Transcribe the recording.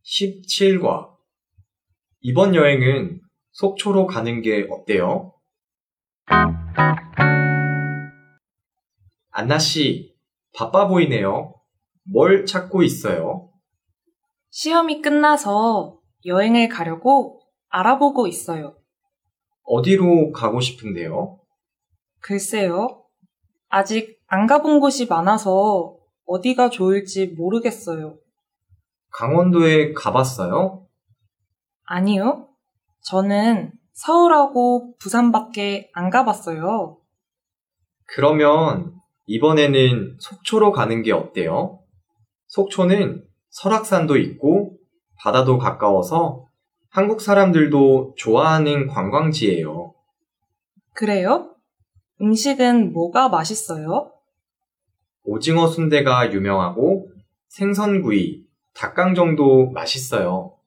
17과 이번 여행은 속초로 가는 게 어때요? 안나 씨, 바빠 보이네요. 뭘 찾고 있어요? 시험이 끝나서 여행을 가려고 알아보고 있어요. 어디로 가고 싶은데요? 글쎄요. 아직 안 가본 곳이 많아서 어디가 좋을지 모르겠어요. 강원도에 가봤어요? 아니요. 저는 서울하고 부산밖에 안 가봤어요. 그러면 이번에는 속초로 가는 게 어때요? 속초는 설악산도 있고 바다도 가까워서 한국 사람들도 좋아하는 관광지예요. 그래요? 음식은 뭐가 맛있어요? 오징어 순대가 유명하고 생선구이, 닭강정도 맛있어요.